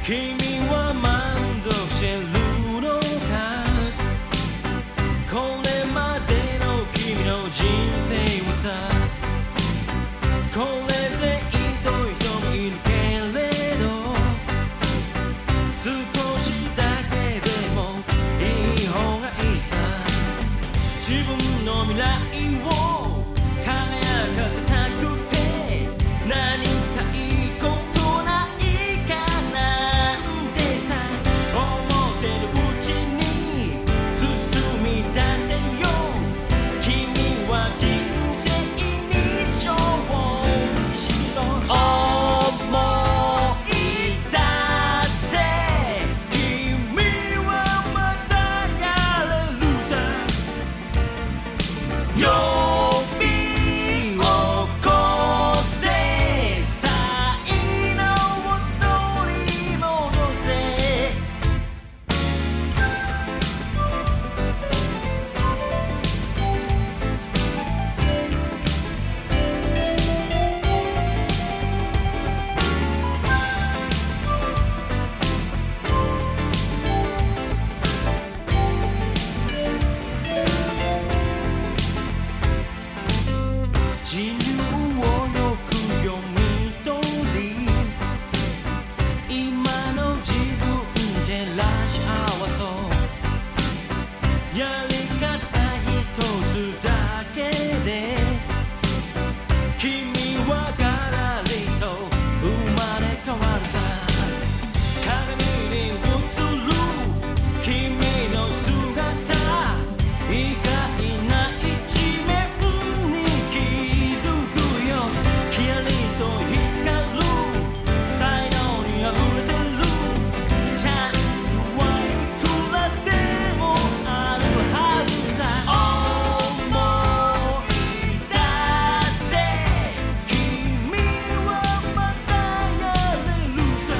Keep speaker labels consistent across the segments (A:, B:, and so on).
A: 君は満足してるのか。これまでの君の人生はさ、これでひどい人もいるけれど、少しだけでもいい方がいいさ。自分の未来を輝かせたくて、何かいいことないかなんてさ、思ってるうちに進み出せよ。君は人生に勝負しろ。思い出せ、君はまだやれるさ。呼び起こせ、才能を取り戻せ。自由をよく読み取り、今の自分照らし合わそう。やり方一つだけで君はガラリと生まれ変わるさ。鏡に映る君の姿、意外な一面に気づくよ。キラリと光る才能にあふれてる。チャンスはいくらでもあるはずさ。思い出せ、君はまだやれるさ。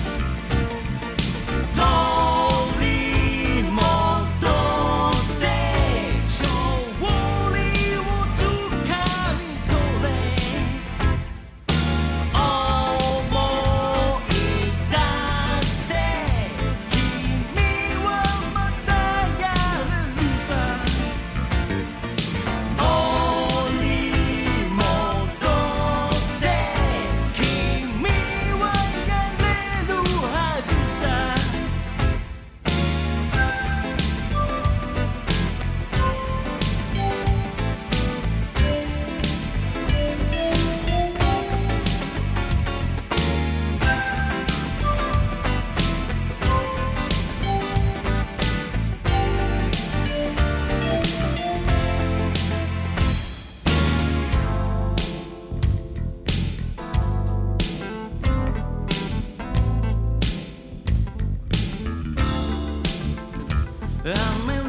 A: 取り戻せ、勝利をつかみ取れ。思い出せ、君はまだやれるさ。取り戻せ、君はやれるはずさ。雨